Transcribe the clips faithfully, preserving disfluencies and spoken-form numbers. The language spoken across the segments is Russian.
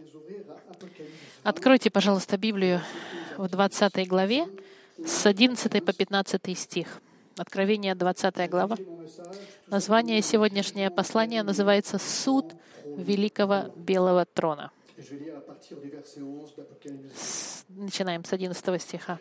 Откройте, пожалуйста, Библию в двадцатой главе с одиннадцатого по пятнадцатый стих. Откровение, двадцатая глава. Название сегодняшнего послания называется «Суд великого белого трона». С- Начинаем с одиннадцатого стиха.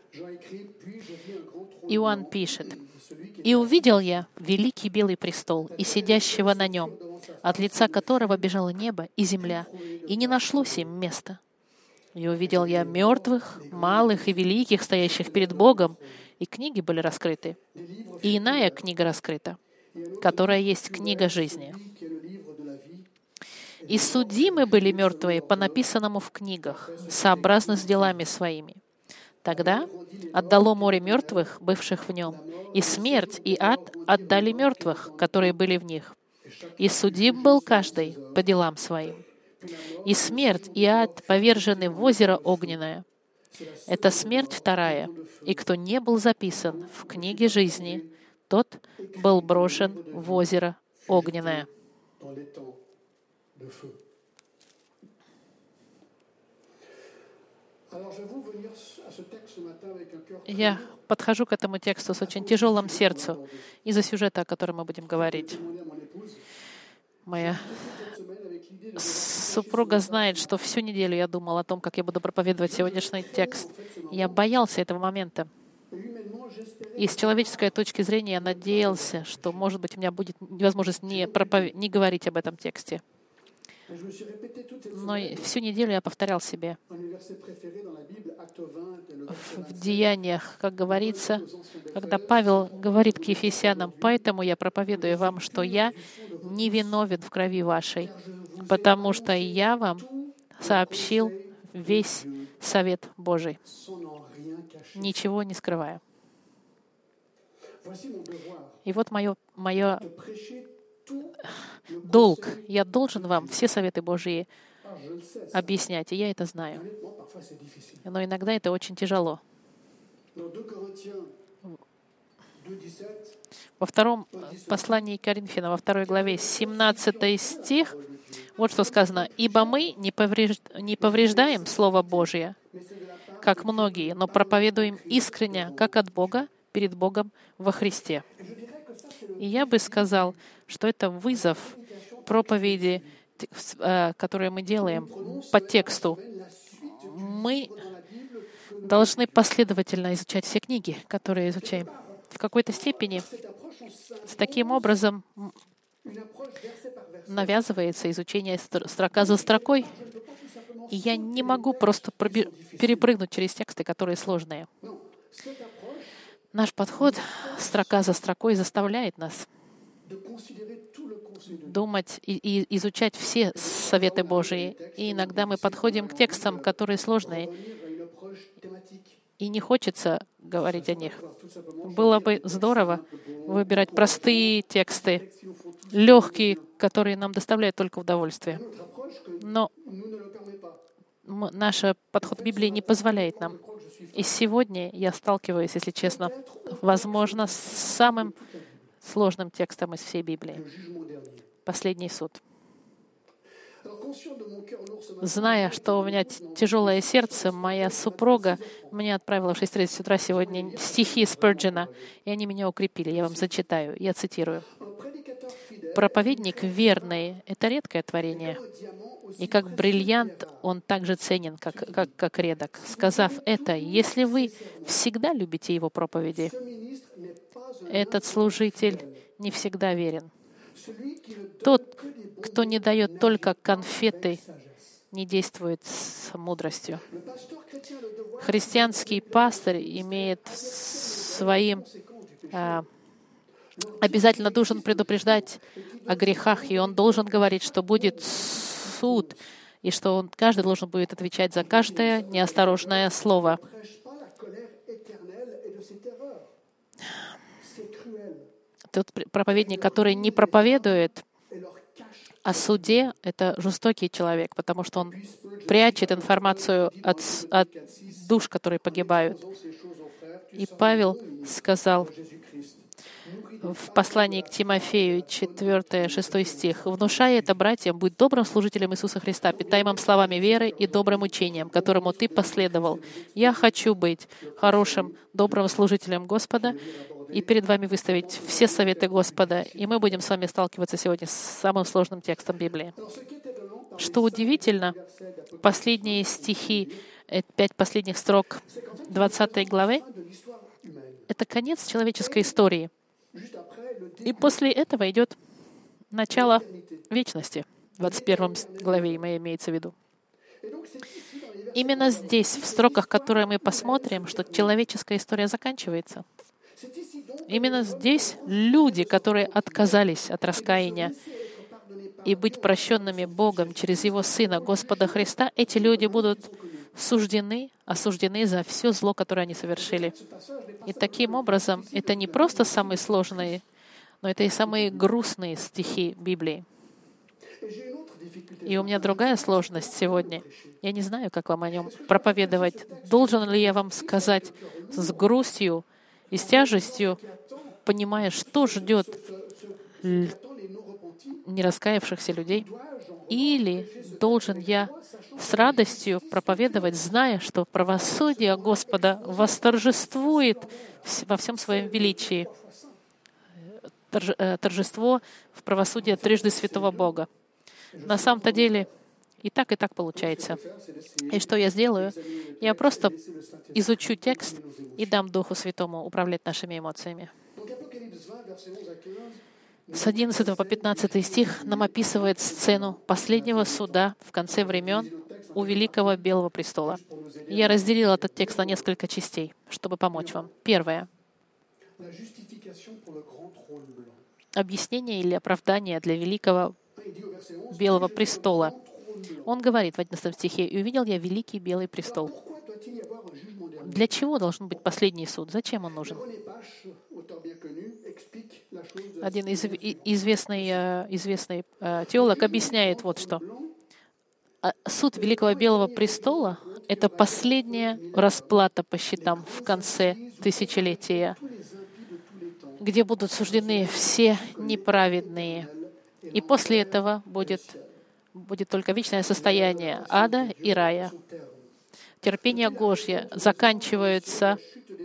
Иоанн пишет: «И увидел я великий белый престол и сидящего на нем, от лица которого бежало небо и земля, и не нашлось им места. И увидел я мертвых, малых и великих, стоящих перед Богом, и книги были раскрыты. И иная книга раскрыта, которая есть книга жизни. И судимы были мертвые по написанному в книгах, сообразно с делами своими. Тогда отдало море мертвых, бывших в нем, и смерть, и ад отдали мертвых, которые были в них. И судим был каждый по делам своим. И смерть, и ад повержены в озеро огненное. Это смерть вторая. И кто не был записан в книге жизни, тот был брошен в озеро огненное». Я подхожу к этому тексту с очень тяжелым сердцем из-за сюжета, о котором мы будем говорить. Моя супруга знает, что всю неделю я думал о том, как я буду проповедовать сегодняшний текст. Я боялся этого момента. И с человеческой точки зрения я надеялся, что, может быть, у меня будет возможность не, проповед... не говорить об этом тексте. Но всю неделю я повторял себе в Деяниях, как говорится, когда Павел говорит к Ефесянам: «Поэтому я проповедую вам, что я не виновен в крови вашей, потому что я вам сообщил весь совет Божий, ничего не скрывая». И вот мое, мое долг. Я должен вам все советы Божьи объяснять, и я это знаю. Но иногда это очень тяжело. Во втором послании к Коринфянам, во второй главе, семнадцатый стих, вот что сказано: «Ибо мы не повреж- не повреждаем Слово Божие, как многие, но проповедуем искренне, как от Бога, перед Богом во Христе». И я бы сказал, что это вызов проповеди, которые мы делаем по тексту. Мы должны последовательно изучать все книги, которые изучаем. В какой-то степени с таким образом навязывается изучение строка за строкой, и я не могу просто пробе- перепрыгнуть через тексты, которые сложные. Наш подход строка за строкой заставляет нас думать и, и изучать все советы Божии. И иногда мы подходим к текстам, которые сложные, и не хочется говорить о них. Было бы здорово выбирать простые тексты, легкие, которые нам доставляют только удовольствие. Но наш подход к Библии не позволяет нам. И сегодня я сталкиваюсь, если честно, возможно, с самым сложным текстом из всей Библии. Последний суд. Зная, что у меня тяжелое сердце, моя супруга мне отправила в шесть тридцать утра сегодня стихи Спurgeon, и они меня укрепили. Я вам зачитаю, я цитирую. «Проповедник верный — это редкое творение, и как бриллиант он так же ценен, как, как, как редок. Сказав это, если вы всегда любите его проповеди, этот служитель не всегда верен. Тот, кто не дает только конфеты, не действует с мудростью. Христианский пастырь имеет своим а, обязательно должен предупреждать о грехах, и он должен говорить, что будет суд, и что он, каждый должен будет отвечать за каждое неосторожное слово. Тот проповедник, который не проповедует о суде, это жестокий человек, потому что он прячет информацию от, от душ, которые погибают. И Павел сказал, в послании к Тимофею, четвёртый шестой стих. «Внушай это братьям, будь добрым служителем Иисуса Христа, питаемым словами веры и добрым учением, которому ты последовал. Я хочу быть хорошим, добрым служителем Господа и перед вами выставить все советы Господа». И мы будем с вами сталкиваться сегодня с самым сложным текстом Библии. Что удивительно, последние стихи, э, пять последних строк двадцатой главы, это конец человеческой истории. И после этого идет начало вечности. В двадцать первой главе имеется в виду. Именно здесь, в строках, которые мы посмотрим, что человеческая история заканчивается. Именно здесь люди, которые отказались от раскаяния и быть прощенными Богом через Его Сына, Господа Христа, эти люди будут суждены, осуждены за все зло, которое они совершили. И таким образом, это не просто самые сложные, но это и самые грустные стихи Библии. И у меня другая сложность сегодня. Я не знаю, как вам о нем проповедовать. Должен ли я вам сказать с грустью и с тяжестью, понимая, что ждет нераскаявшихся людей? Или должен я с радостью проповедовать, зная, что правосудие Господа восторжествует во всем своем величии? Торжество в правосудии трижды святого Бога. На самом-то деле и так, и так получается. И что я сделаю? Я просто изучу текст и дам Духу Святому управлять нашими эмоциями. С одиннадцатого по пятнадцатый стих нам описывает сцену последнего суда в конце времен у Великого Белого престола. Я разделил этот текст на несколько частей, чтобы помочь вам. Первое. Объяснение или оправдание для Великого Белого престола. Он говорит в одиннадцатом стихе: «И увидел я Великий Белый престол». Для чего должен быть последний суд? Зачем он нужен? Один из, известный, известный теолог объясняет вот что. Суд Великого Белого престола — это последняя расплата по счетам в конце тысячелетия, где будут суждены все неправедные. И после этого будет, будет только вечное состояние ада и рая. Терпение Божье заканчивается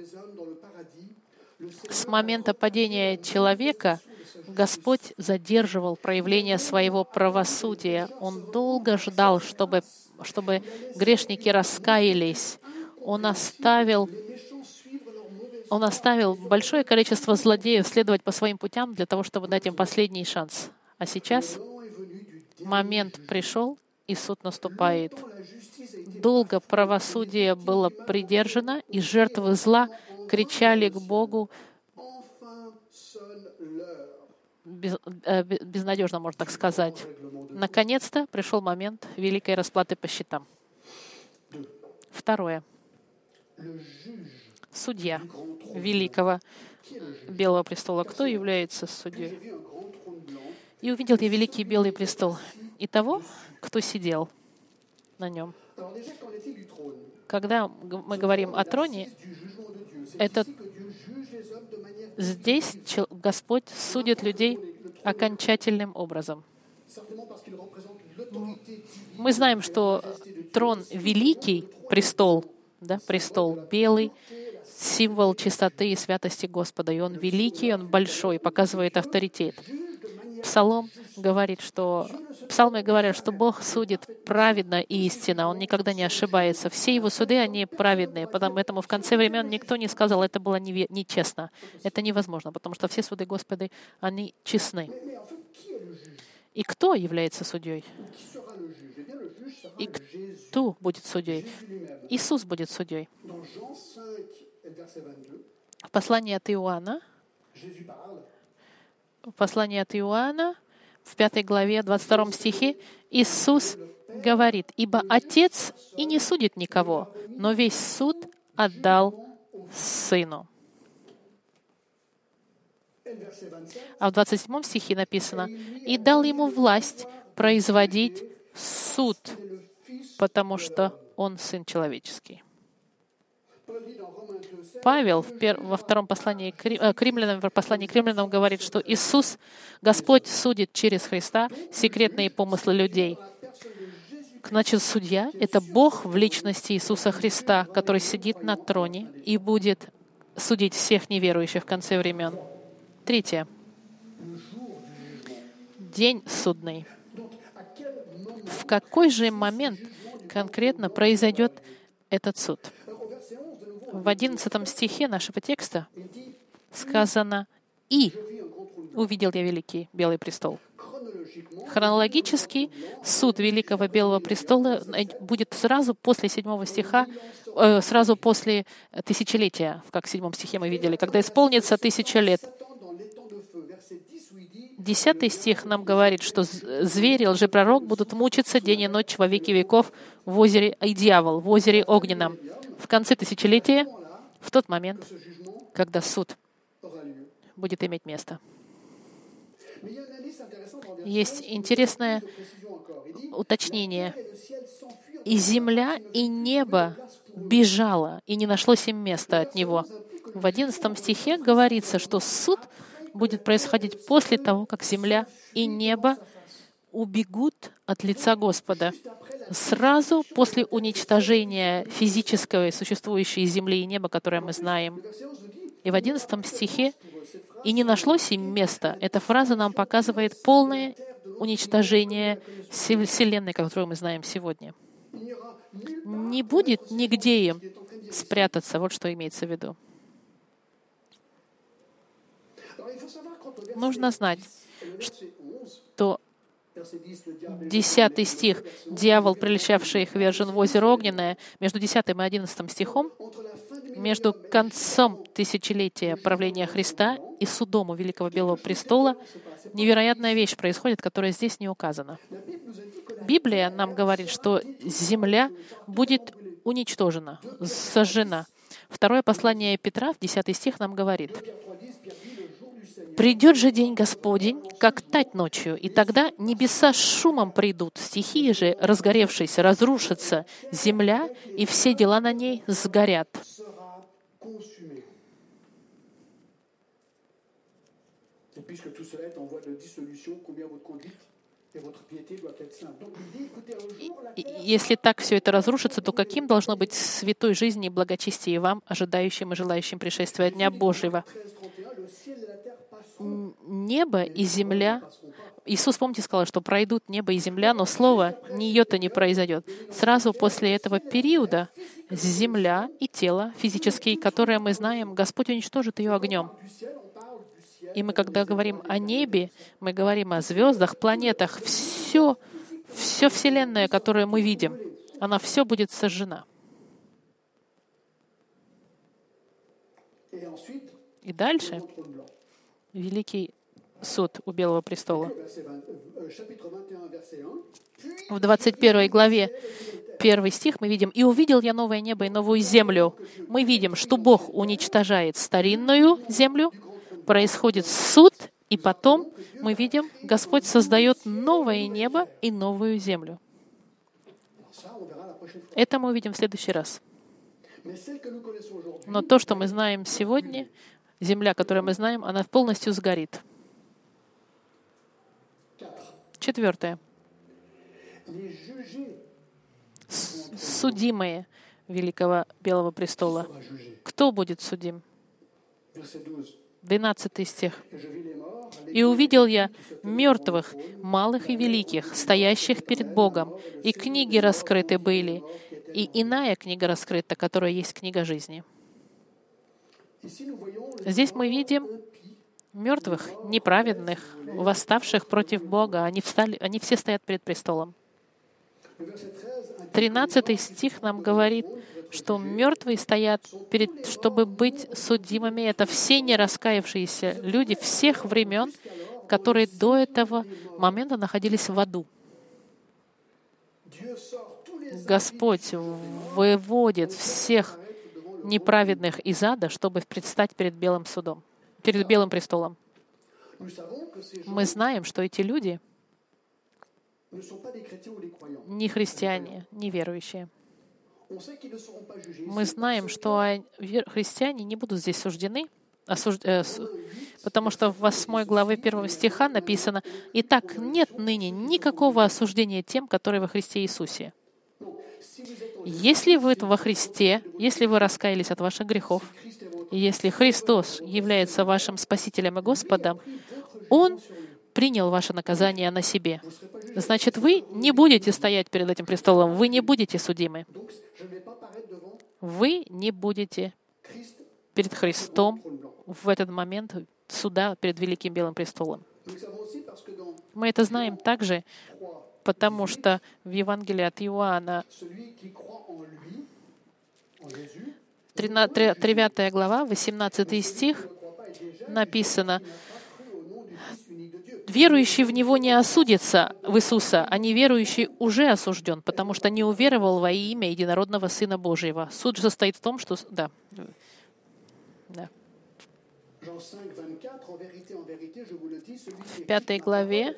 с момента падения человека. Господь задерживал проявление своего правосудия. Он долго ждал, чтобы, чтобы грешники раскаялись. Он оставил, он оставил большое количество злодеев следовать по своим путям для того, чтобы дать им последний шанс. А сейчас момент пришел, и суд наступает. Долго правосудие было придержано, и жертвы зла кричали к Богу, без, э, безнадежно, можно так сказать. Наконец-то пришел момент великой расплаты по счетам. Второе. Судья Великого Белого престола. Кто является судьей? «И увидел я Великий Белый престол, и того, кто сидел на нем». Когда мы говорим о троне, это здесь Господь судит людей окончательным образом. Мы знаем, что трон великий, престол, да, престол белый, символ чистоты и святости Господа. И он великий, он большой, показывает авторитет. Псалом говорит, что Псалмы говорят, что Бог судит праведно и истинно. Он никогда не ошибается. Все его суды, они праведные. Поэтому в конце времен никто не сказал, это было нечестно. Это невозможно, потому что все суды Господа, они честны. И кто является судьей? И кто будет судьей? Иисус будет судьей. В послании от Иоанна, в послании от Иоанна, в пятой главе, двадцать втором стихе, Иисус говорит: «Ибо Отец и не судит никого, но весь суд отдал Сыну». А в двадцать седьмом стихе написано: «И дал Ему власть производить суд, потому что Он Сын человеческий». Павел в пер... во втором послании к, Ри... э, к римлянам, в послании к римлянам говорит, что Иисус, Господь, судит через Христа секретные помыслы людей. Значит, судья — это Бог в личности Иисуса Христа, который сидит на троне и будет судить всех неверующих в конце времен. Третье. День судный. В какой же момент конкретно произойдет этот суд? В одиннадцатом стихе нашего текста сказано «И увидел я великий белый престол». Хронологически суд Великого Белого престола будет сразу после седьмого стиха, э, сразу после тысячелетия, как в седьмом стихе мы видели, когда исполнится тысяча лет. Десятый стих нам говорит, что звери и лжепророк будут мучиться день и ночь во веки веков в озере, и дьявол, в озере огненном. В конце тысячелетия, в тот момент, когда суд будет иметь место. Есть интересное уточнение. «И земля, и небо бежало, и не нашлось им места от него». В одиннадцатом стихе говорится, что суд будет происходить после того, как земля и небо убегут от лица Господа. Сразу после уничтожения физической существующей земли и неба, которое мы знаем. И в одиннадцатом стихе «и не нашлось им места». Эта фраза нам показывает полное уничтожение Вселенной, которую мы знаем сегодня. Не будет нигде им спрятаться. Вот что имеется в виду. Нужно знать, что десятый стих, дьявол, прельщавший их, вержен в озеро огненное, между десятым и одиннадцатым стихом, между концом тысячелетия правления Христа и судом у Великого Белого престола, невероятная вещь происходит, которая здесь не указана. Библия нам говорит, что земля будет уничтожена, сожжена. Второе послание Петра, десятый стих, нам говорит: «Придет же день Господень, как тать ночью, и тогда небеса с шумом придут, стихии же, разгоревшись, разрушатся, земля и все дела на ней сгорят». И если так все это разрушится, то каким должно быть святой жизни и благочестие вам, ожидающим и желающим пришествия Дня Божьего? Небо и земля. Иисус, помните, сказал, что пройдут небо и земля, но слово ни ее-то не произойдет. Сразу после этого периода земля и тело физические, которые мы знаем, Господь уничтожит ее огнем. И мы, когда говорим о небе, мы говорим о звездах, планетах, все, все Вселенная, которую мы видим, она все будет сожжена. И дальше великий суд у Белого престола. В двадцать первой главе, первый стих, мы видим: «И увидел я новое небо и новую землю». Мы видим, что Бог уничтожает старинную землю, происходит суд, и потом мы видим, Господь создает новое небо и новую землю. Это мы увидим в следующий раз. Но то, что мы знаем сегодня, земля, которую мы знаем, она полностью сгорит. Четвертое. Судимые Великого Белого престола. Кто будет судим? двенадцатый стих. «И увидел я мертвых, малых и великих, стоящих перед Богом, и книги раскрыты были, и иная книга раскрыта, которая есть книга жизни». Здесь мы видим мертвых, неправедных, восставших против Бога. Они, встали, они все стоят перед престолом. тринадцатый стих нам говорит, что мертвые стоят, перед, чтобы быть судимыми. Это все нераскаявшиеся люди всех времен, которые до этого момента находились в аду. Господь выводит всех неправедных из ада, чтобы предстать перед белым судом, перед белым престолом. Мы знаем, что эти люди не христиане, не верующие. Мы знаем, что христиане не будут здесь суждены, осуж... э, с... потому что в восьмой главе первого стиха написано: «Итак, нет ныне никакого осуждения тем, которые во Христе Иисусе». Если вы во Христе, если вы раскаялись от ваших грехов, и если Христос является вашим Спасителем и Господом, Он принял ваше наказание на себе. Значит, вы не будете стоять перед этим престолом, вы не будете судимы. Вы не будете перед Христом в этот момент суда перед Великим Белым престолом. Мы это знаем также, потому что в Евангелии от Иоанна, девятая глава, восемнадцатый стих, написано: «Верующий в Него не осудится, в Иисуса, а неверующий уже осужден, потому что не уверовал во имя единородного Сына Божьего». Суд же состоит в том, что... Да. Да. В пятой главе,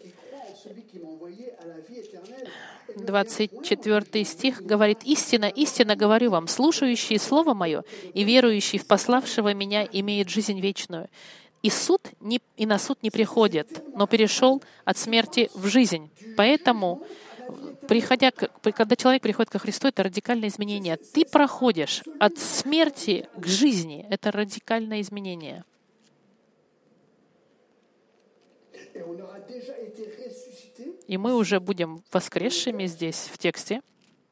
двадцать четвёртый стих говорит: «Истинно, истинно говорю вам, слушающий Слово Мое и верующий в пославшего Меня имеет жизнь вечную. И суд не, и на суд не приходит, но перешел от смерти в жизнь». Поэтому, приходя, когда человек приходит ко Христу, это радикальное изменение. Ты проходишь от смерти к жизни. Это радикальное изменение. И мы уже будем воскресшими здесь, в тексте.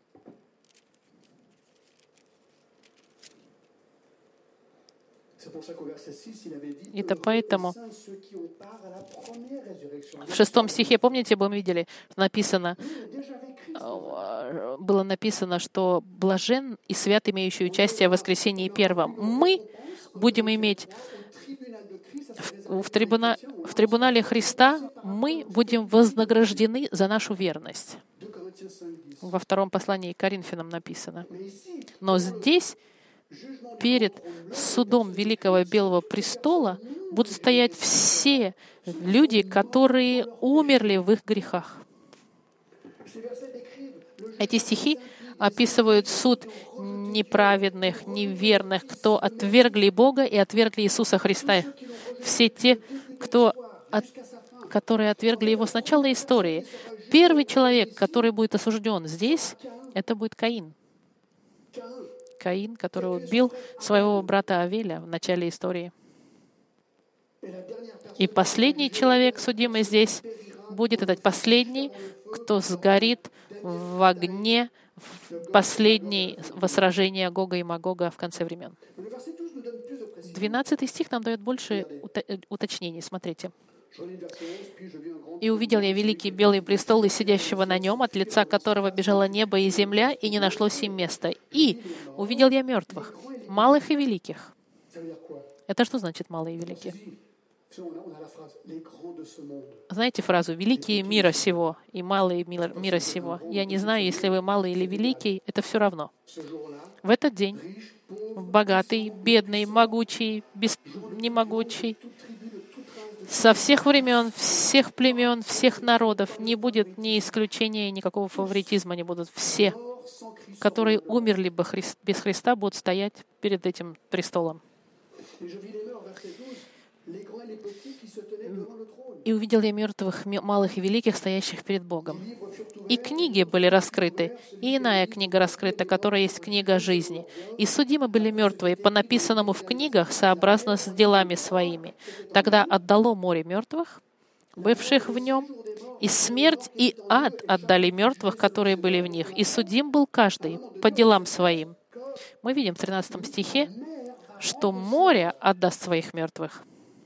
Это поэтому в шестом стихе, помните, мы видели, написано, было написано, что блажен и свят, имеющий участие в воскресении первом. Мы будем иметь в, в, трибуна, в трибунале Христа, мы будем вознаграждены за нашу верность. Во втором послании к Коринфянам написано. Но здесь перед судом Великого Белого престола будут стоять все люди, которые умерли в их грехах. Эти стихи описывают суд неправедных, неверных, кто отвергли Бога и отвергли Иисуса Христа. Все те, кто от, которые отвергли Его с начала истории. Первый человек, который будет осужден здесь, это будет Каин. Каин, который убил своего брата Авеля в начале истории. И последний человек, судимый здесь, будет этот последний, кто сгорит в огне в последнее сражение Гога и Магога в конце времен. Двенадцатый стих нам дает больше уточнений. Смотрите. «И увидел я великий белый престол и сидящего на нем, от лица которого бежало небо и земля, и не нашлось им места. И увидел я мертвых, малых и великих». Это что значит «малые и великие»? Знаете фразу «великие мира сего» и «малые мира сего»? Я не знаю, если вы малый или великий, это все равно. В этот день богатый, бедный, могучий, без... немогучий, со всех времен, всех племен, всех народов не будет ни исключения, никакого фаворитизма не будут. Все, которые умерли бы без Христа, будут стоять перед этим престолом. «И увидел я мертвых, малых и великих, стоящих перед Богом. И книги были раскрыты, и иная книга раскрыта, которая есть книга жизни. И судимы были мертвые по написанному в книгах, сообразно с делами своими. Тогда отдало море мертвых, бывших в нем, и смерть и ад отдали мертвых, которые были в них. И судим был каждый по делам своим». Мы видим в тринадцатом стихе, что море отдаст своих мертвых.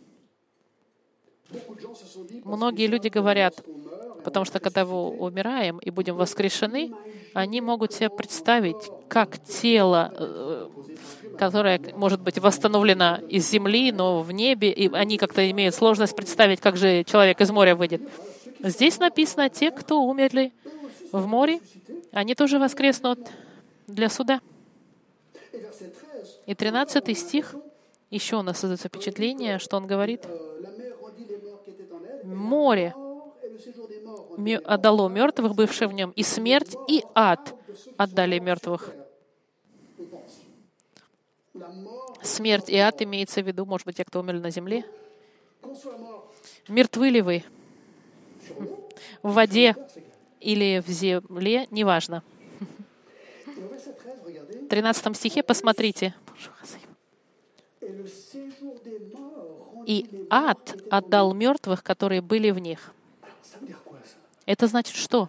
Многие люди говорят, потому что когда мы умираем и будем воскрешены, они могут себе представить, как тело, которое может быть восстановлено из земли, но в небе, и они как-то имеют сложность представить, как же человек из моря выйдет. Здесь написано, те, кто умерли в море, они тоже воскреснут для суда. И тринадцатый стих, еще у нас создается впечатление, что он говорит, море отдало мертвых, бывших в нем, и смерть, и ад отдали мертвых. Смерть и ад имеется в виду, может быть, те, кто умерли на земле. Мертвы ли вы в воде или в земле, неважно. В тринадцатом стихе посмотрите. «И ад отдал мертвых, которые были в них». Это значит что?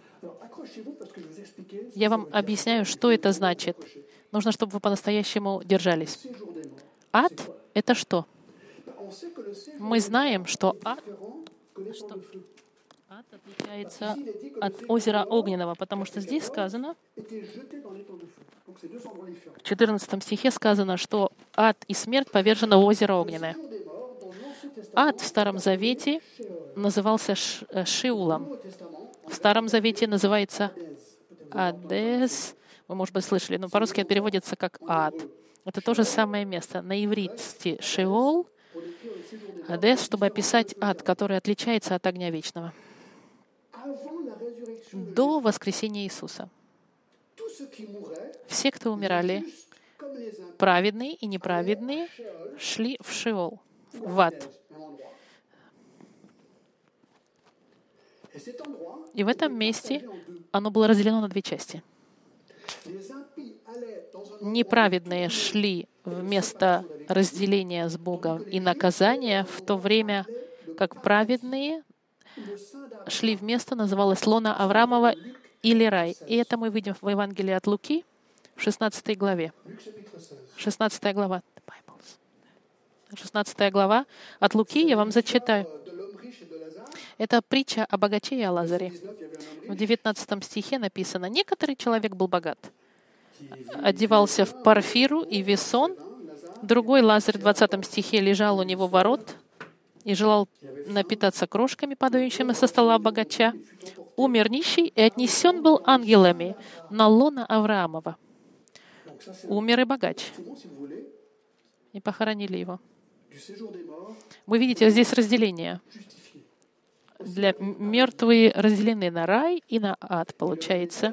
Я вам объясняю, что это значит. Нужно, чтобы вы по-настоящему держались. Ад — это что? Мы знаем, что ад, что ад отличается от озера Огненного, потому что здесь сказано, в четырнадцатом стихе сказано, что ад и смерть повержены в озеро Огненное. Ад в Старом Завете назывался Шиулом. В Старом Завете называется Адес. Вы, может быть, слышали, но по-русски это переводится как ад. Это то же самое место. На иврите Шеол, Адес, чтобы описать ад, который отличается от огня вечного. До воскресения Иисуса все, кто умирали, праведные и неправедные, шли в Шеол, в ад. И в этом месте оно было разделено на две части. Неправедные шли в место разделения с Богом и наказания, в то время как праведные шли в место, называлось лона Авраамова или рай. И это мы видим в Евангелии от Луки в шестнадцатой главе. шестнадцатая глава. шестнадцатая глава от Луки, я вам зачитаю. Это притча о богаче и о Лазаре. В девятнадцатом стихе написано: «Некоторый человек был богат, одевался в парфиру и весон, другой Лазарь в двадцатом стихе лежал у него ворот и желал напитаться крошками, падающими со стола богача. Умер нищий и отнесен был ангелами на лоно Авраамова». Умер и богач. И похоронили его. Вы видите, здесь разделение. Для мертвые разделены на рай и на ад, получается.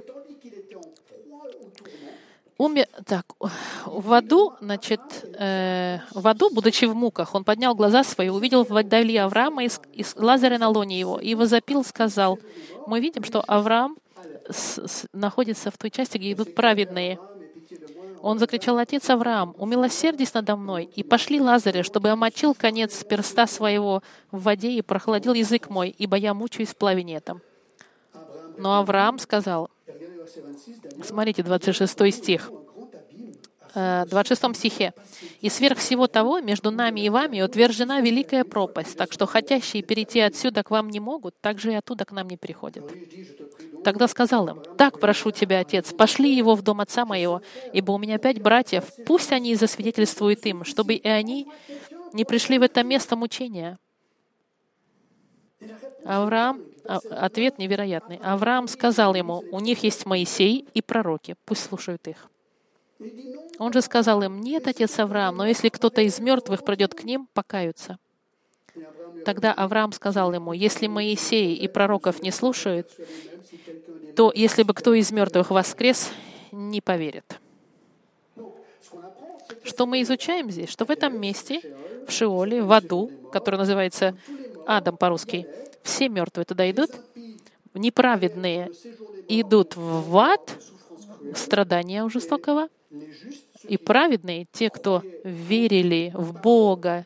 Умер, так, в аду, значит, э, в аду, будучи в муках, он поднял глаза свои, увидел вдали Авраама и, и Лазаря на лоне его, и возопил, сказал: мы видим, что Авраам с, с, находится в той части, где идут праведные. Он закричал: «Отец Авраам, умилосердись надо мной, и пошли Лазаря, чтобы омочил конец перста своего в воде и прохладил язык мой, ибо я мучаюсь в пламени этом». Но Авраам сказал, смотрите, двадцать шестой стих, в двадцать шестом стихе: «И сверх всего того между нами и вами утверждена великая пропасть, так что хотящие перейти отсюда к вам не могут, так же и оттуда к нам не приходят». Тогда сказал им: «Так прошу тебя, отец, пошли его в дом отца моего, ибо у меня пять братьев, пусть они засвидетельствуют им, чтобы и они не пришли в это место мучения». Авраам, ответ невероятный. Авраам сказал ему: «У них есть Моисей и пророки, пусть слушают их». Он же сказал им: «Нет, отец Авраам, но если кто-то из мертвых придет к ним, покаются». Тогда Авраам сказал ему: «Если Моисей и пророков не слушают, то если бы кто из мертвых воскрес, не поверит». Что мы изучаем здесь? Что в этом месте, в Шиоле, в аду, который называется адом по-русски, все мертвые туда идут, неправедные идут в ад, страдания у жестокого, и праведные, те, кто верили в Бога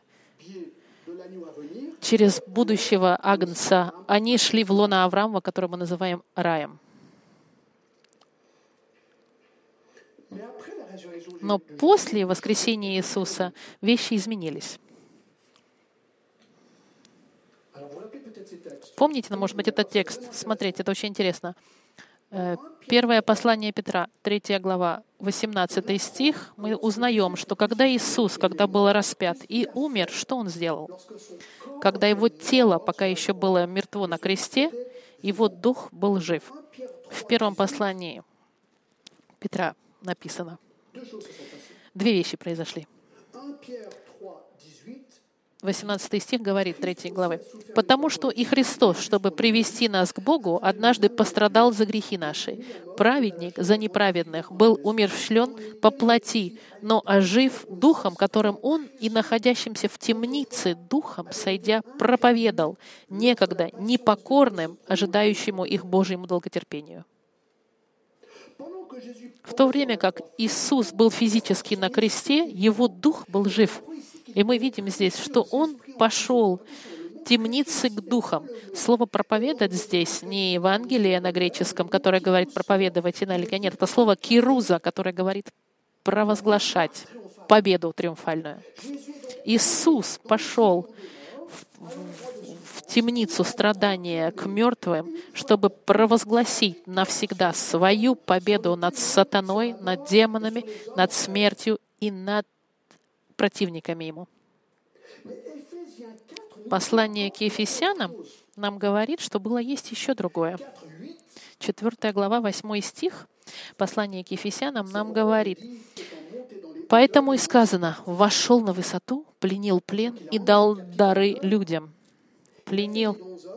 через будущего Агнца, они шли в лоно Авраама, который мы называем раем. Но после воскресения Иисуса вещи изменились. Помните, ну, может быть, этот текст? Смотрите, это очень интересно. Первое послание Петра, третья глава, восемнадцатый стих, мы узнаем, что когда Иисус, когда был распят и умер, что Он сделал? Когда Его тело пока еще было мертво на кресте, Его дух был жив. В первом послании Петра написано. Две вещи произошли. восемнадцатый стих говорит третьей главы. «Потому что и Христос, чтобы привести нас к Богу, однажды пострадал за грехи наши. Праведник за неправедных был умерщвлен по плоти, но ожив духом, которым Он и находящимся в темнице духом, сойдя, проповедал некогда непокорным, ожидающему их Божьему долготерпению». В то время как Иисус был физически на кресте, Его дух был жив. И мы видим здесь, что Он пошел в темницы к духам. Слово «проповедать» здесь не Евангелие на греческом, которое говорит «проповедовать» и налегать. Нет, это слово «кируза», которое говорит «провозглашать» победу триумфальную. Иисус пошел в, в, в темницу страдания к мертвым, чтобы провозгласить навсегда свою победу над сатаной, над демонами, над смертью и над противниками Ему. Послание к Ефесянам нам говорит, что было есть еще другое. Четвертая глава, восьмой стих, послание к Ефесянам нам говорит: «Поэтому и сказано, вошел на высоту, пленил плен и дал дары людям». Пленил.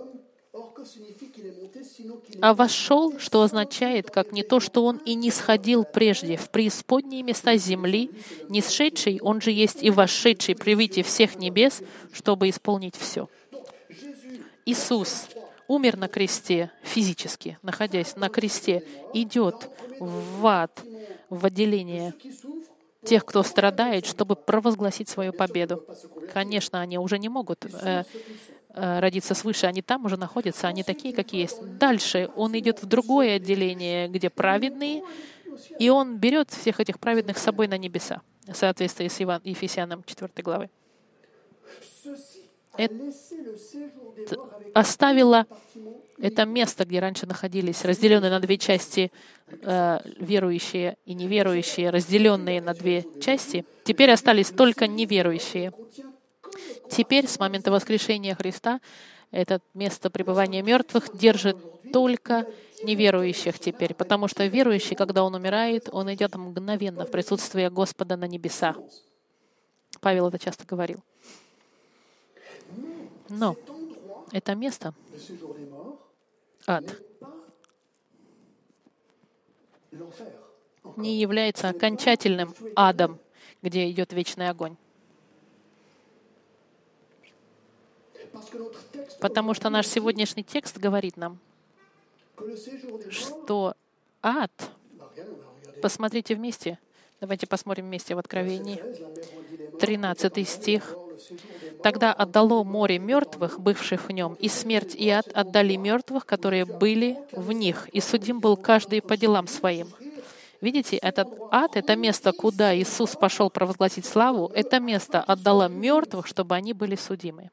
А вошел, что означает, как не то, что он и не сходил прежде в преисподние места земли, не сшедший, он же есть и вошедший при виде всех небес, чтобы исполнить все. Иисус умер на кресте физически, находясь на кресте, идет в ад, в отделение тех, кто страдает, чтобы провозгласить свою победу. Конечно, они уже не могут э, э, родиться свыше, они там уже находятся, они такие, какие есть. Дальше он идет в другое отделение, где праведные, и он берет всех этих праведных с собой на небеса, в соответствии с Иван, Ефесянам четвёртой главы. Это оставило это место, где раньше находились, разделенные на две части, э, верующие и неверующие, разделенные на две части. Теперь остались только неверующие. Теперь, с момента воскрешения Христа, это место пребывания мертвых держит только неверующих теперь, потому что верующий, когда он умирает, он идет мгновенно в присутствие Господа на небеса. Павел это часто говорил. Но это место, ад, не является окончательным адом, где идет вечный огонь. Потому что наш сегодняшний текст говорит нам, что ад, посмотрите вместе, давайте посмотрим вместе в Откровении, тринадцатый стих. «Тогда отдало море мертвых, бывших в нем, и смерть и ад отдали мертвых, которые были в них, и судим был каждый по делам своим». Видите, этот ад, это место, куда Иисус пошел провозгласить славу, это место отдало мертвых, чтобы они были судимы.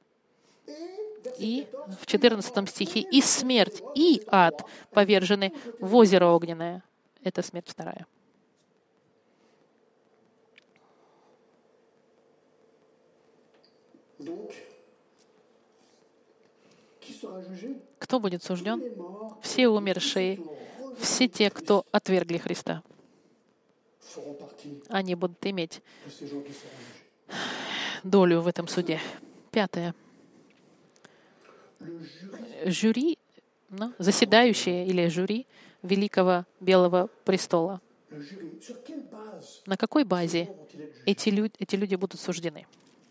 И в четырнадцатом стихе «И смерть, и ад повержены в озеро огненное». Это смерть вторая. Кто будет сужден? Все умершие, все те, кто отвергли Христа. Они будут иметь долю в этом суде. Пятое. Жюри, ну, заседающие или жюри Великого Белого Престола. На какой базе эти люди, эти люди будут суждены?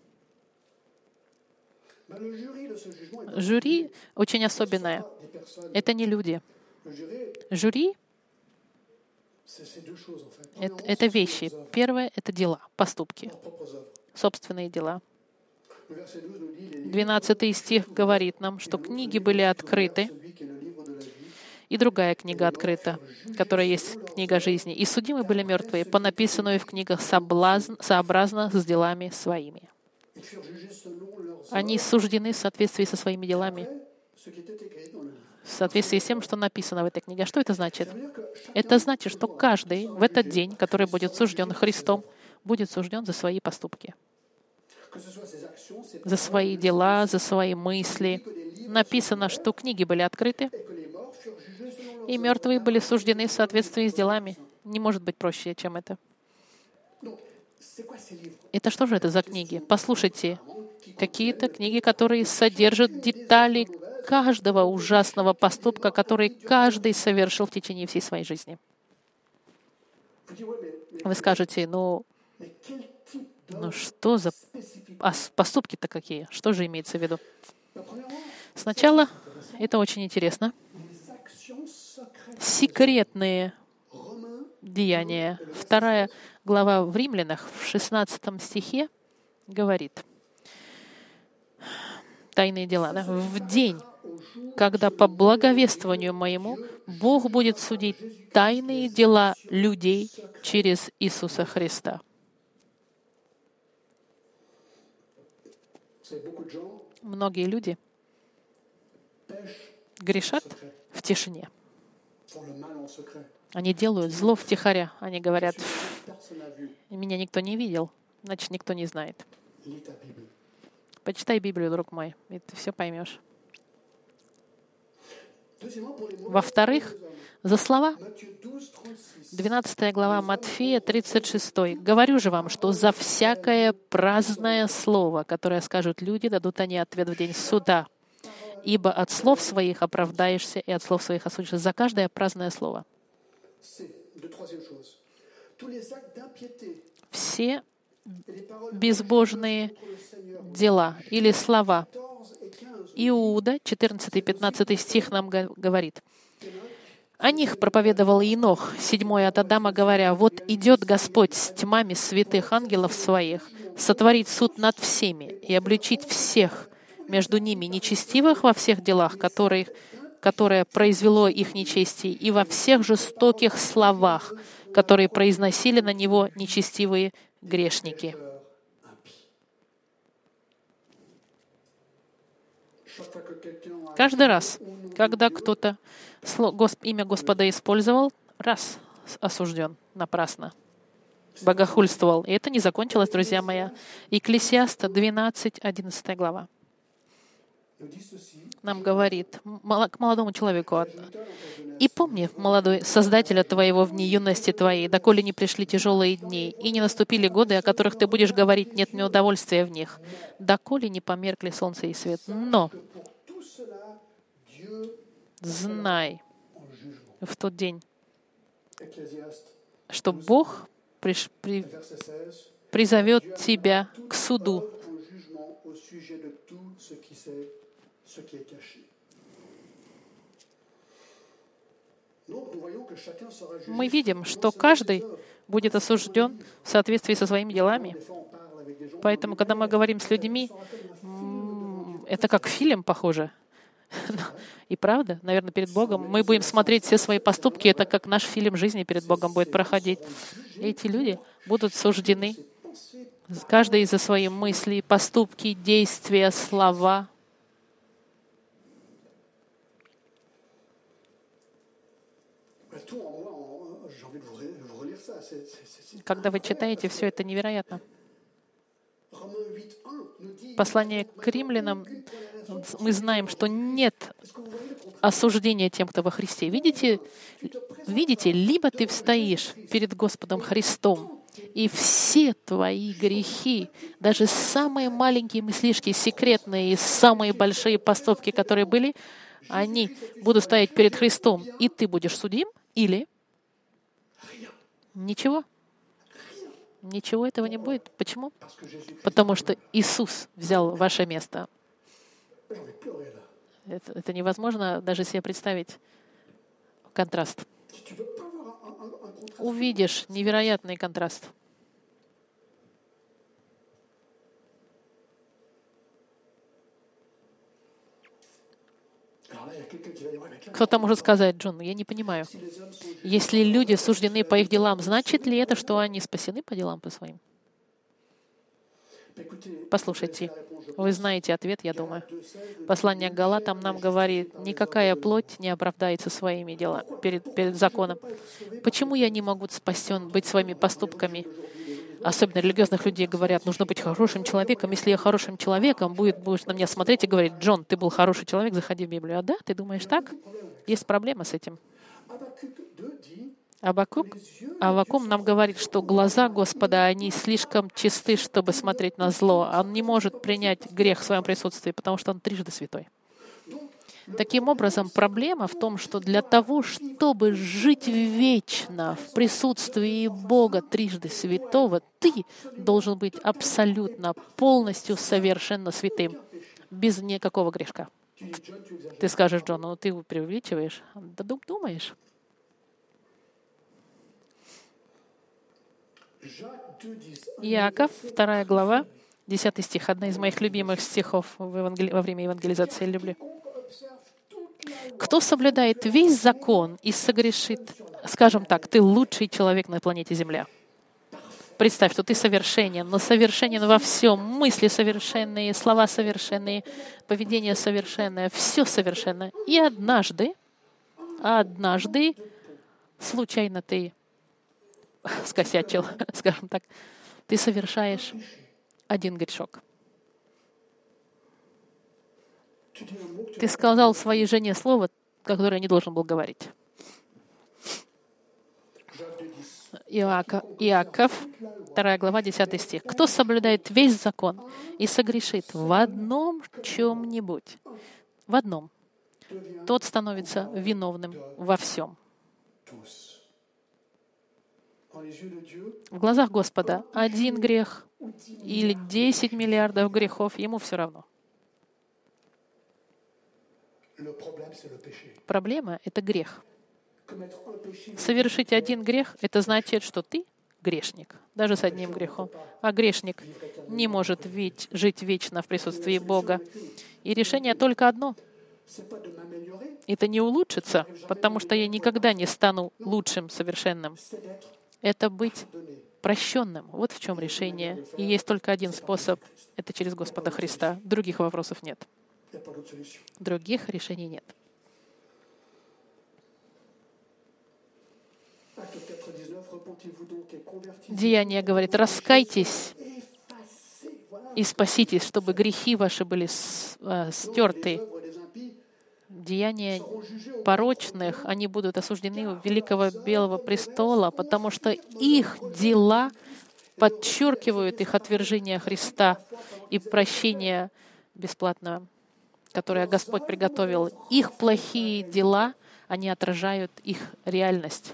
Жюри очень особенное. Это не люди. Жюри — это, это вещи. Первое — это дела, поступки, собственные дела. двенадцатый стих говорит нам, что книги были открыты, и другая книга открыта, которая есть книга жизни. И судимы были мертвые, по написанную в книгах соблазн, сообразно с делами своими. Они суждены в соответствии со своими делами, в соответствии с тем, что написано в этой книге. А что это значит? Это значит, что каждый в этот день, который будет сужден Христом, будет сужден за свои поступки, за свои дела, за свои мысли. Написано, что книги были открыты, и мертвые были суждены в соответствии с делами. Не может быть проще, чем это. Это что же это за книги? Послушайте, какие-то книги, которые содержат детали каждого ужасного поступка, который каждый совершил в течение всей своей жизни. Вы скажете, ну, ну что за поступки-то какие? Что же имеется в виду? Сначала, это очень интересно, секретные деяния. Вторая глава в Римлянах, в шестнадцатом стихе, говорит, тайные дела, да? В день, когда по благовествованию моему Бог будет судить тайные дела людей через Иисуса Христа. Многие люди грешат в тишине. Они делают зло втихаря. Они говорят, меня никто не видел, значит, никто не знает. Почитай Библию, друг мой, и ты все поймешь. Во-вторых, за слова, двенадцатая глава Матфея, тридцать шесть. «Говорю же вам, что за всякое праздное слово, которое скажут люди, дадут они ответ в день суда. Ибо от слов своих оправдаешься, и от слов своих осудишься». За каждое праздное слово. Все безбожные дела или слова. Иуда, четырнадцатый пятнадцатый стих нам говорит. О них проповедовал Енох, седьмой от Адама, говоря, «Вот идет Господь с тьмами святых ангелов своих, сотворить суд над всеми и обличить всех между ними нечестивых во всех делах, которые, которое произвело их нечестие, и во всех жестоких словах, которые произносили на него нечестивые грешники». Каждый раз, когда кто-то имя Господа использовал, раз осужден напрасно, богохульствовал. И это не закончилось, друзья мои. Екклесиаста двенадцать, одиннадцатая глава. Нам говорит к молодому человеку: «И помни, молодой, Создателя твоего в дни юности твоей, доколе не пришли тяжелые дни, и не наступили годы, о которых ты будешь говорить, нет мне удовольствия в них, доколе не померкли солнце и свет. Но знай в тот день, что Бог приш, при, призовет тебя к суду». Мы видим, что каждый будет осужден в соответствии со своими делами. Поэтому, когда мы говорим с людьми, это как фильм похоже. И правда, наверное, перед Богом мы будем смотреть все свои поступки, это как наш фильм жизни перед Богом будет проходить. И эти люди будут суждены, каждый за свои мысли, поступки, действия, слова. Когда вы читаете, все это невероятно. Послание к римлянам, мы знаем, что нет осуждения тем, кто во Христе. Видите, видите, либо ты встоишь перед Господом Христом, и все твои грехи, даже самые маленькие мыслишки, секретные и самые большие поступки, которые были, они будут стоять перед Христом, и ты будешь судим, или ничего. Ничего этого не будет. Почему? Потому что Иисус взял ваше место. Это, это невозможно даже себе представить контраст. Увидишь невероятный контраст. Кто-то может сказать: Джон, я не понимаю. Если люди суждены по их делам, значит ли это, что они спасены по делам по своим? Послушайте, вы знаете ответ, я думаю. Послание к Галатам нам говорит: никакая плоть не оправдается своими делами перед, перед законом. Почему я не могу спасен быть своими поступками? Особенно религиозных людей говорят: нужно быть хорошим человеком. Если я хорошим человеком, будет, будешь на меня смотреть и говорить: Джон, ты был хороший человек, заходи в Библию. А да, ты думаешь так? Есть проблема с этим. Авакум, Авакум нам говорит, что глаза Господа, они слишком чисты, чтобы смотреть на зло. Он не может принять грех в своем присутствии, потому что он трижды святой. Таким образом, проблема в том, что для того, чтобы жить вечно в присутствии Бога трижды святого, ты должен быть абсолютно, полностью, совершенно святым, без никакого грешка. Ты скажешь, Джон, ну ты преувеличиваешь. Да думаешь? Иаков, вторая глава, десятый стих, одна из моих любимых стихов в евангели... во время евангелизации, я люблю. «Кто соблюдает весь закон и согрешит...» Скажем так, ты лучший человек на планете Земля. Представь, что ты совершенен, но совершенен во всем. Мысли совершенные, слова совершенные, поведение совершенное, все совершенно. И однажды, однажды, случайно ты скосячил, скажем так, ты совершаешь один грешок. Ты сказал своей жене слово, которое не должен был говорить. Иаков, Иаков, вторая глава, десятый стих. «Кто соблюдает весь закон и согрешит в одном чем-нибудь, в одном, тот становится виновным во всем». В глазах Господа один грех или десять миллиардов грехов, ему все равно. Проблема — это грех. Совершить один грех — это значит, что ты грешник, даже с одним грехом. А грешник не может ведь жить вечно в присутствии Бога. И решение только одно. Это не улучшится, потому что я никогда не стану лучшим, совершенным. Это быть прощенным. Вот в чем решение. И есть только один способ — это через Господа Христа. Других вопросов нет. Других решений нет. Деяние говорит: раскайтесь и спаситесь, чтобы грехи ваши были стерты. Деяния порочных, они будут осуждены у великого белого престола, потому что их дела подчеркивают их отвержение Христа и прощение бесплатное, которое Господь приготовил. Их плохие дела, они отражают их реальность.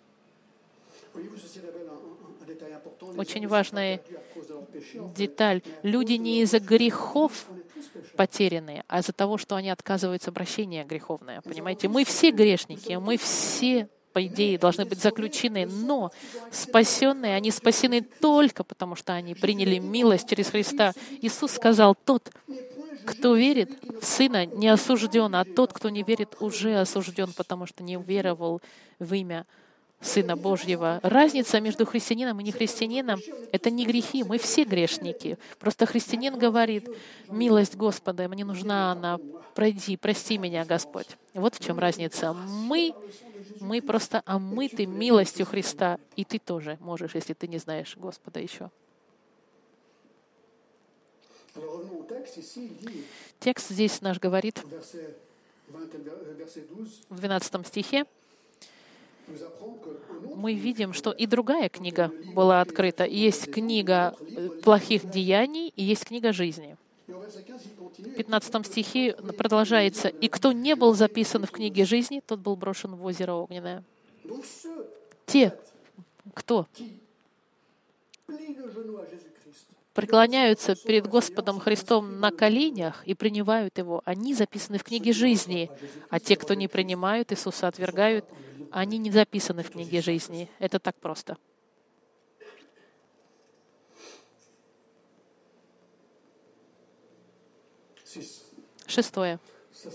Очень важная деталь. Люди не из-за грехов потерянные, а из-за того, что они отказываются прощения греховное. Понимаете? Мы все грешники, мы все, по идее, должны быть заключены, но спасенные, они спасены только потому, что они приняли милость через Христа. Иисус сказал: тот, кто верит в Сына, не осужден, а тот, кто не верит, уже осужден, потому что не уверовал в имя Сына Божьего. Разница между христианином и нехристианином — это не грехи. Мы все грешники. Просто христианин говорит: милость Господа, мне нужна она. Пройди, прости меня, Господь. Вот в чем разница. Мы, мы просто омыты милостью Христа. И ты тоже можешь, если ты не знаешь Господа еще. Текст здесь наш говорит в двенадцатом стихе. Мы видим, что и другая книга была открыта. Есть книга плохих деяний, и есть книга жизни. В пятнадцатом стихе продолжается: «И кто не был записан в книге жизни, тот был брошен в озеро огненное». Те, кто преклоняются перед Господом Христом на коленях и принимают Его, они записаны в книге жизни. А те, кто не принимают Иисуса, отвергают, они не записаны в книге жизни. Это так просто. Шестое.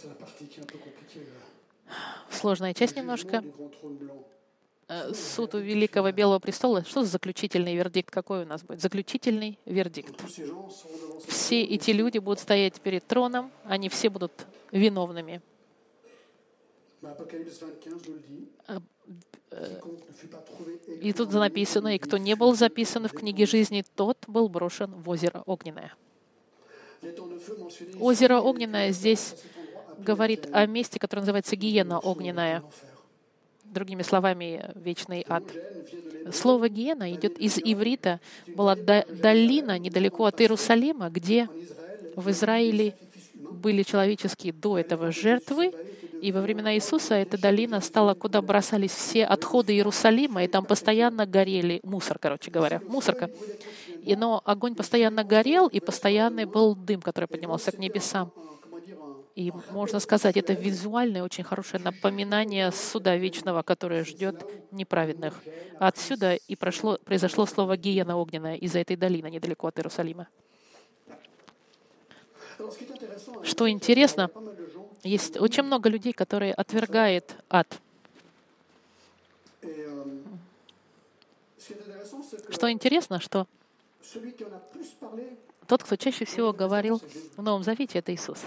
Сложная часть немножко. Суд у Великого Белого престола. Что за заключительный вердикт? Какой у нас будет? Заключительный вердикт. Все эти люди будут стоять перед троном, они все будут виновными. И тут написано: «И кто не был записан в книге жизни, тот был брошен в озеро огненное». Озеро огненное здесь говорит о месте, которое называется гиена огненная. другими словами, вечный ад. Слово «гиена» идет из иврита. Была долина недалеко от Иерусалима, где в Израиле были человеческие до этого жертвы, и во времена Иисуса эта долина стала, куда бросались все отходы Иерусалима, и там постоянно горели, мусор, короче говоря, мусорка. И, но огонь постоянно горел, и постоянный был дым, который поднимался к небесам. И можно сказать, это визуальное, очень хорошее напоминание суда вечного, которое ждет неправедных. Отсюда и прошло, произошло слово «гиена огненная» из-за этой долины недалеко от Иерусалима. Что интересно, есть очень много людей, которые отвергают ад. Что интересно, что тот, кто чаще всего говорил в Новом Завете, это Иисус.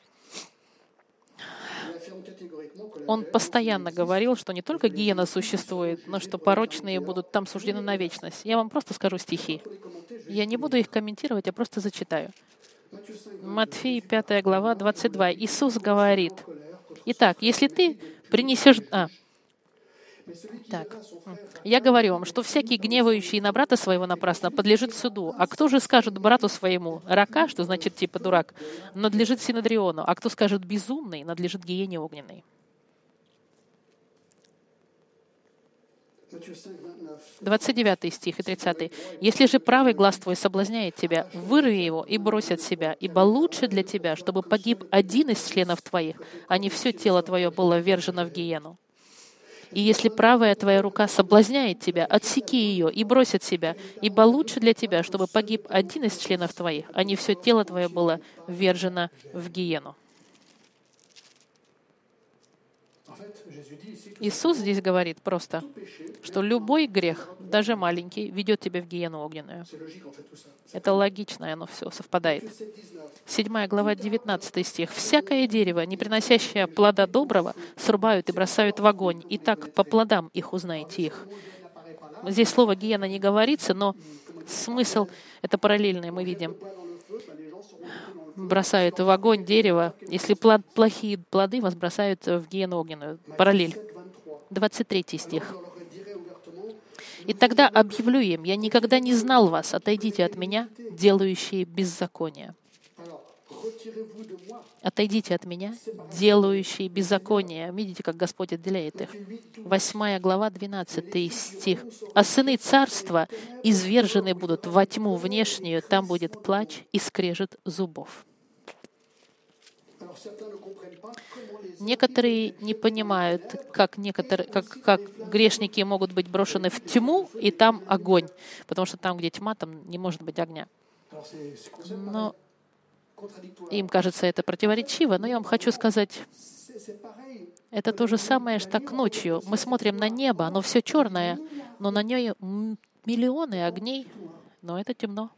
Он постоянно говорил, что не только гиена существует, но что порочные будут там суждены на вечность. Я вам просто скажу стихи. Я не буду их комментировать, я просто зачитаю. Матфея пятая глава, двадцать два. Иисус говорит: «Итак, если ты принесешь...» А, так. «Я говорю вам, что всякий, гневающий на брата своего напрасно, подлежит суду. А кто же скажет брату своему рака, что значит типа дурак, надлежит синедриону, а кто скажет безумный, надлежит гиене огненной». двадцать девятый стих и тридцатый. «Если же правый глаз твой соблазняет тебя, вырви его и брось от себя, ибо лучше для тебя, чтобы погиб один из членов твоих, а не все тело твое было ввержено в гиену. И если правая твоя рука соблазняет тебя, отсеки ее и брось от себя, ибо лучше для тебя, чтобы погиб один из членов твоих, а не все тело твое было ввержено в гиену». Иисус здесь говорит просто, что любой грех, даже маленький, ведет тебя в гиену огненную. Это логично, и оно все совпадает. Седьмая глава, девятнадцатый стих. «Всякое дерево, не приносящее плода доброго, срубают и бросают в огонь, и так по плодам их узнаете их». Здесь слово «гиена» не говорится, но смысл это параллельный, мы видим. Бросают в огонь дерево, если плод, плохие плоды вас бросают в гиену огненную. Параллель. двадцать третий стих. «И тогда объявлю им: я никогда не знал вас, отойдите от меня, делающие беззаконие». Отойдите от меня, делающие беззаконие. Видите, как Господь отделяет их. Восьмая глава, двенадцатый стих. «А сыны царства извержены будут во тьму внешнюю, там будет плач и скрежет зубов». Некоторые не понимают, как, некоторые, как, как грешники могут быть брошены в тьму, и там огонь. Потому что там, где тьма, там не может быть огня. Но им кажется это противоречиво, но я вам хочу сказать, это то же самое, что так ночью. Мы смотрим на небо, оно все черное, но на нем миллионы огней, но это темно.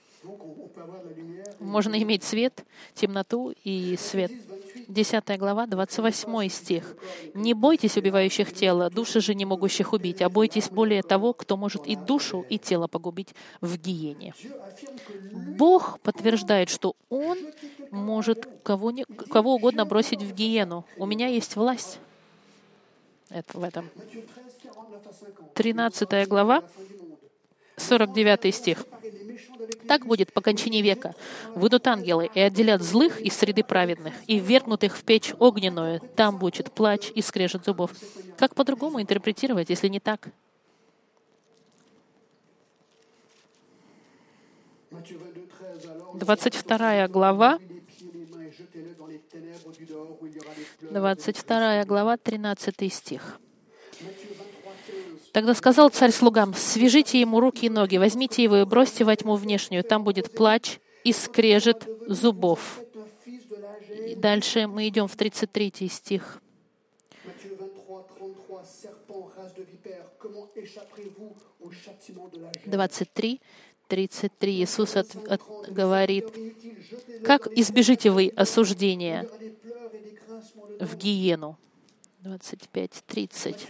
Можно иметь свет, темноту и свет. десятая глава, двадцать восьмой стих. «Не бойтесь убивающих тело, души же не могущих убить, а бойтесь более того, кто может и душу, и тело погубить в гиене». Бог подтверждает, что Он может кого, не, кого угодно бросить в гиену. У меня есть власть это, в этом. тринадцатая глава, сорок девятый стих. «Так будет по кончине века. Выйдут ангелы и отделят злых из среды праведных, и ввергнут их в печь огненную. Там будет плач и скрежет зубов». Как по-другому интерпретировать, если не так? двадцать вторая глава, двадцать вторая глава, тринадцатый стих. «Тогда сказал царь слугам: свяжите ему руки и ноги, возьмите его и бросьте во тьму внешнюю, там будет плач и скрежет зубов». И дальше мы идем в тридцать третий стих. двадцать три, тридцать три. Иисус от, от, говорит: «Как избежите вы осуждения в гиену?» двадцать пять, тридцать,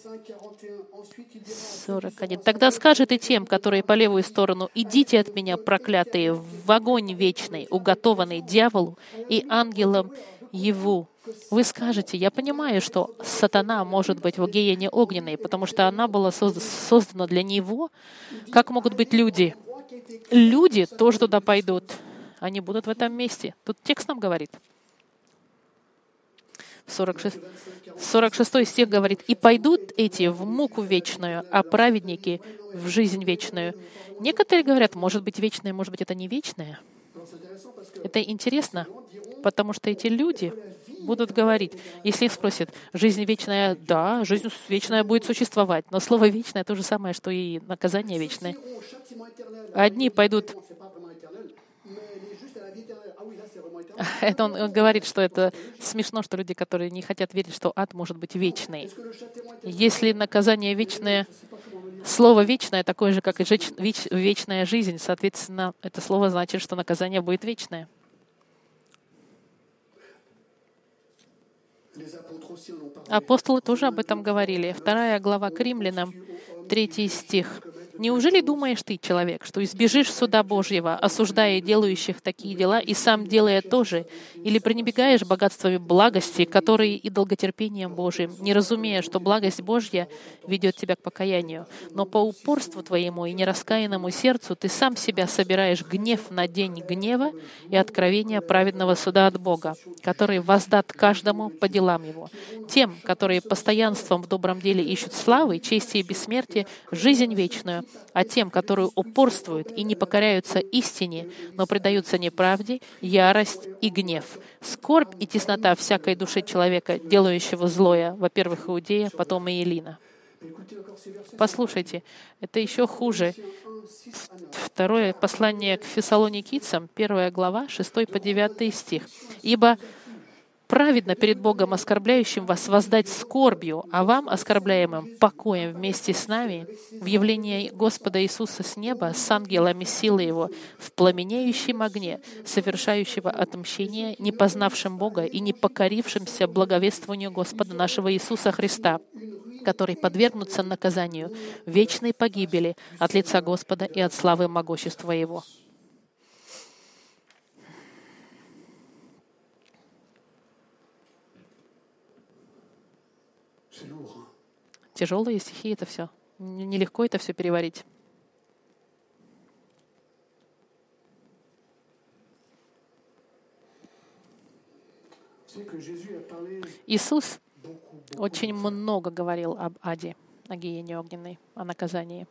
сорок один. «Тогда скажет и тем, которые по левую сторону: идите от меня, проклятые, в огонь вечный, уготованный дьяволу и ангелам Его. Вы скажете, я понимаю, что сатана может быть в гиене огненной, потому что она была созда- создана для него. Как могут быть люди? Люди тоже туда пойдут. Они будут в этом месте. Тут текст нам говорит. сорок шесть, сорок шестой стих говорит, «И пойдут эти в муку вечную, а праведники в жизнь вечную». Некоторые говорят, может быть, вечное, может быть, это не вечное. Это интересно, потому что эти люди будут говорить, если их спросят, жизнь вечная, да, жизнь вечная будет существовать, но слово «вечное» то же самое, что и наказание вечное. Одни пойдут... Это он, он говорит, что это смешно, что люди, которые не хотят верить, что ад может быть вечный. Если наказание вечное, слово «вечное» такое же, как и жеч- веч- вечная жизнь, соответственно, это слово значит, что наказание будет вечное. Апостолы тоже об этом говорили. Вторая глава к Римлянам, третий стих. «Неужели думаешь ты, человек, что избежишь суда Божьего, осуждая делающих такие дела, и сам делая то же? Или пренебрегаешь богатствами благости, которые и долготерпением Божиим, не разумея, что благость Божья ведет тебя к покаянию? Но по упорству твоему и нераскаянному сердцу ты сам себя собираешь гнев на день гнева и откровения праведного суда от Бога, который воздат каждому по делам его. Тем, которые постоянством в добром деле ищут славы, чести и бессмертия, жизнь вечную, а тем, которые упорствуют и не покоряются истине, но предаются неправде, ярость и гнев, скорбь и теснота всякой души человека, делающего злое, во-первых, Иудея, потом и Илина». Послушайте, это еще хуже. Второе послание к Фессалоникийцам, первая глава, шестой по девятый стих. «Ибо праведно перед Богом, оскорбляющим вас, воздать скорбью, а вам, оскорбляемым, покоем вместе с нами в явлении Господа Иисуса с неба, с ангелами силы Его, в пламенеющем огне, совершающего отмщение, не познавшим Бога и не покорившимся благовествованию Господа нашего Иисуса Христа, который подвергнутся наказанию вечной погибели от лица Господа и от славы могущества Его». Тяжелые стихи это все. Нелегко это все переварить. Иисус очень много говорил об аде, о гиене огненной, о наказании.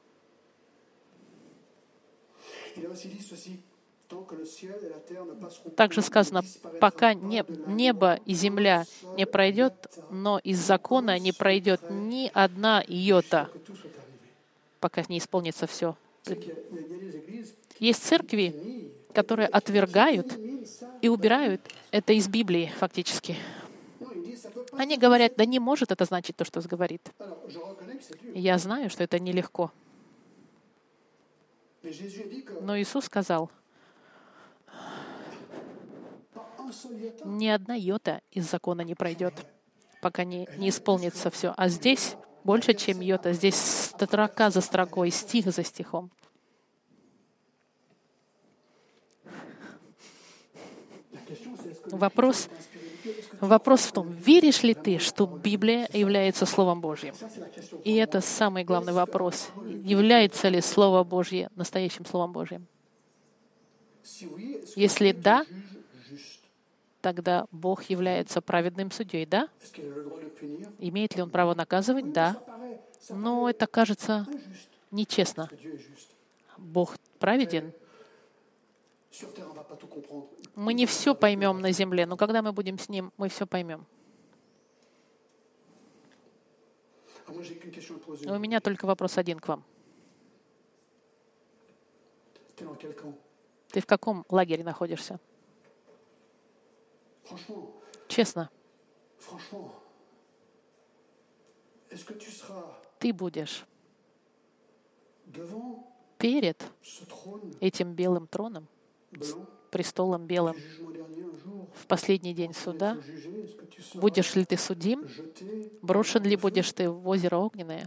Также сказано, пока небо и земля не пройдет, но из закона не пройдет ни одна йота, пока не исполнится все. Есть церкви, которые отвергают и убирают это из Библии фактически. Они говорят, да не может это значить то, что говорит. Я знаю, что это нелегко. Но Иисус сказал, ни одна йота из закона не пройдет, пока не, не исполнится все. А здесь больше, чем йота. Здесь строка за строкой, стих за стихом. Вопрос, вопрос в том, веришь ли ты, что Библия является Словом Божьим? И это самый главный вопрос. Является ли Слово Божье настоящим Словом Божьим? Если да, тогда Бог является праведным судьей, да? Имеет ли Он право наказывать? Да. Но это кажется нечестно. Бог праведен. Мы не все поймем на земле, но когда мы будем с Ним, мы все поймем. У меня только вопрос один к вам. Ты в каком лагере находишься? Честно. Ты будешь перед этим белым троном, престолом белым, в последний день суда? Будешь ли ты судим? Брошен ли будешь ты в озеро огненное?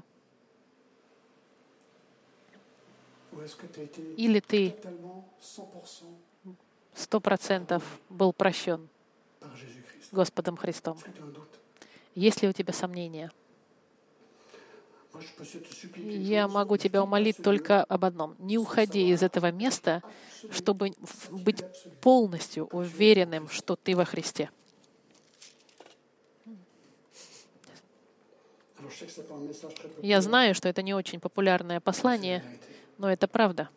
Или ты сто процентов был прощен Господом Христом. Est-ce que tu as un doute? Есть ли у тебя сомнения? Moi, je peux te suppliquer une Я chose. могу тебя умолить только об одном. Не уходи из этого места, чтобы в- быть полностью уверенным, что ты во Христе. Alors, je sais que c'est pas un message très populaire. Я знаю, что это не очень популярное послание, но это правда.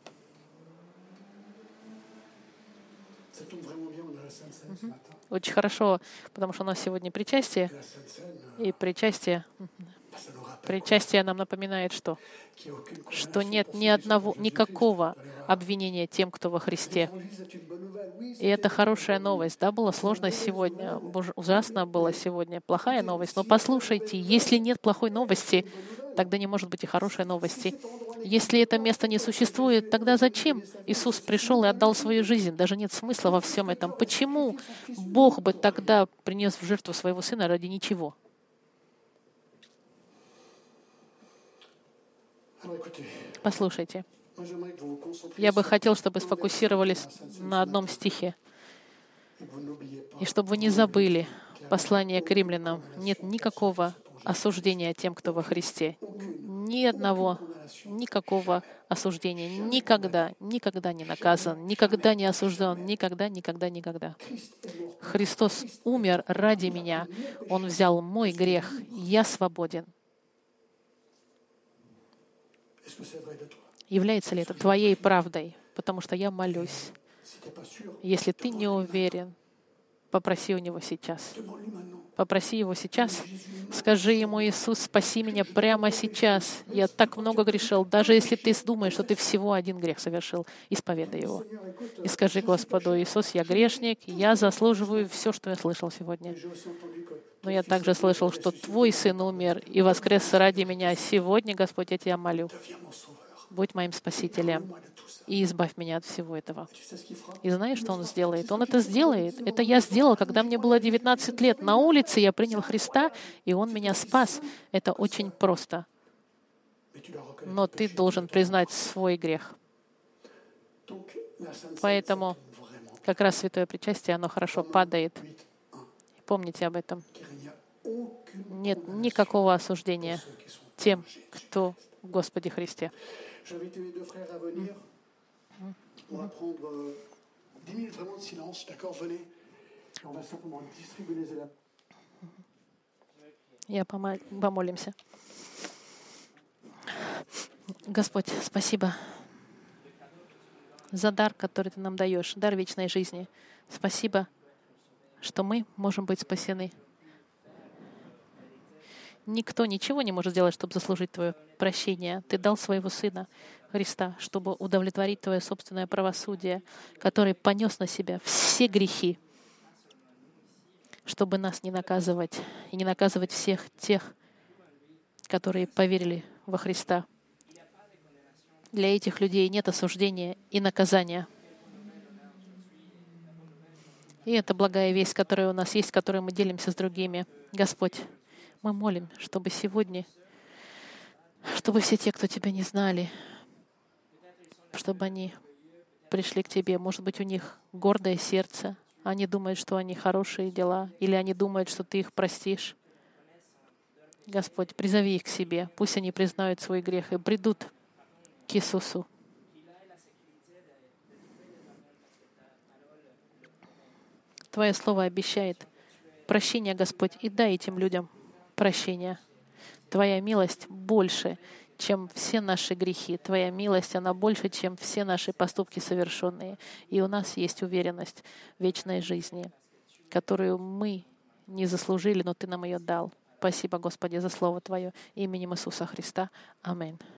Ça tombe vraiment bien, on a la Sainte Seine ce matin. Очень хорошо, потому что у нас сегодня причастие, La Sainte Seine, и причастие, bah, ça nous rappelle причастие нам напоминает, что, qu'il n'y a aucune что condamnation нет pour ни ceux qui sont одного, en Jésus-Christ. никакого обвинения тем, кто во Христе. L'évangile, c'est une bonne nouvelle. Oui, И это хорошая новость. Да, было сложно сегодня, боже, ужасно было сегодня, плохая новость. Но послушайте, если нет плохой новости, тогда не может быть и хорошей новости. Если это место не существует, тогда зачем Иисус пришел и отдал свою жизнь? Даже нет смысла во всем этом. Почему Бог бы тогда принес в жертву своего Сына ради ничего? Alors, écoutez, Послушайте, moi, j'aimerais que vous vous concentriez я бы sur хотел, чтобы un verset сфокусировались de la Sainte Seine на одном стихе, et que vous n'oubliez pas. и чтобы вы не забыли послание к римлянам. Нет никакого осуждения тем, кто во Христе. Ни одного, никакого осуждения. Никогда, никогда не наказан, никогда не осужден, никогда, никогда, никогда. Христос умер ради меня. Он взял мой грех. Я свободен. Est-ce que c'est vrai de toi? Является ли это твоей правдой? Потому что я молюсь. Si t'es pas sûr, Если ты не уверен, попроси у Него сейчас. demande-lui maintenant. Попроси Его сейчас. Скажи Ему: Иисус, спаси меня прямо сейчас. Я так много грешил. Даже если ты думаешь, что ты всего один грех совершил, исповедай его. И скажи Господу: Иисус, я грешник, я заслуживаю все, что я слышал сегодня. J'ai aussi entendu que Но я также слышал, что Твой Сын умер и воскрес ради меня. Сегодня, Господь, я Тебя молю, deviens mon sauveur. будь моим Спасителем Moi de tout ça. и избавь меня от всего этого. Tu sais ce qu'il fera? И знаешь, что Он сделает? Он это сделает. Это я сделал, когда мне было девятнадцать лет. На улице я принял Христа, и Он меня спас. Это очень просто. Mais tu dois reconnaître. Но ты должен признать свой грех. Donc, la Sainte Seine, Поэтому c'est vraiment как раз святое причастие, оно хорошо падает. huit un. Помните об этом. Car il n'y a aucune Нет никакого осуждения ceux qui sont. тем, кто в Господе Христе. J'invite mes deux frères à venir. On va prendre euh, dix minutes vraiment de silence, d'accord? Venez. Et on va simplement distribuer les éléments. Я помо- помолимся. Господь, спасибо за дар, который Ты нам даешь, дар вечной жизни. Спасибо, что мы можем быть спасены. Никто ничего не может сделать, чтобы заслужить Твое прощение. Ты дал Своего Сына Христа, чтобы удовлетворить Твое собственное правосудие, который понес на себя все грехи, чтобы нас не наказывать и не наказывать всех тех, которые поверили во Христа. Для этих людей нет осуждения и наказания. И это благая весть, которая у нас есть, которой мы делимся с другими. Господь, мы молим, чтобы сегодня, чтобы все те, кто Тебя не знали, чтобы они пришли к Тебе. Может быть, у них гордое сердце. Они думают, что они хорошие дела, или они думают, что Ты их простишь. Господь, призови их к себе. Пусть они признают свой грех и придут к Иисусу. Твое Слово обещает прощение, Господь, и дай этим людям прощение. Твоя милость больше, чем все наши грехи. Твоя милость, она больше, чем все наши поступки совершенные. И у нас есть уверенность в вечной жизни, которую мы не заслужили, но Ты нам ее дал. Спасибо, Господи, за Слово Твое. Именем Иисуса Христа. Аминь.